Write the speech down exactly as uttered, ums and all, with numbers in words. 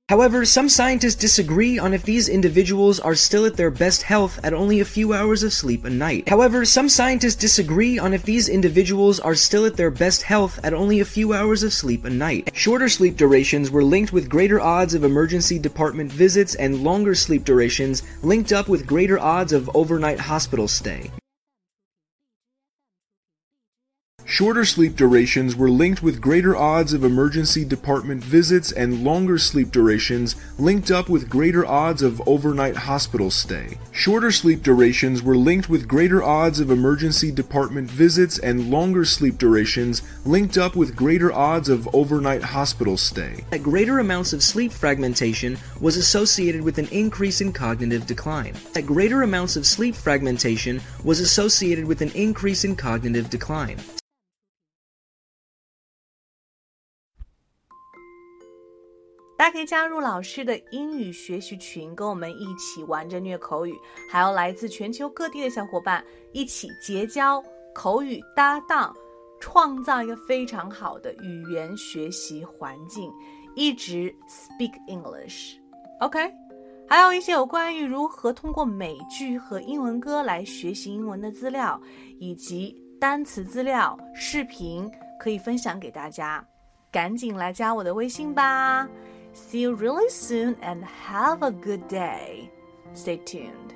However, some scientists disagree on if these individuals are still at their best health at only a few hours of sleep a night. However, some scientists disagree on if these individuals are still at their best health at only a few hours of sleep a night. Shorter sleep durations were linked with greater odds of emergency department visits, and longer sleep durations linked up with greater odds of overnight hospital stay. Shorter sleep durations were linked with greater odds of emergency department visits, and longer sleep durations linked up with greater odds of overnight hospital stay. Shorter sleep durations were linked with greater odds of emergency department visits, and longer sleep durations linked up with greater odds of overnight hospital stay. That greater amounts of sleep fragmentation was associated with an increase in cognitive decline. That greater amounts of sleep fragmentation was associated with an increase in cognitive decline. 大家可以加入老师的英语学习群，跟我们一起玩着虐口语，还有来自全球各地的小伙伴一起结交口语搭档，创造一个非常好的语言学习环境，一直 speak English。 OK， 还有一些有关于如何通过美剧和英文歌来学习英文的资料，以及单词资料、视频可以分享给大家，赶紧来加我的微信吧。See you really soon and have a good day. Stay tuned.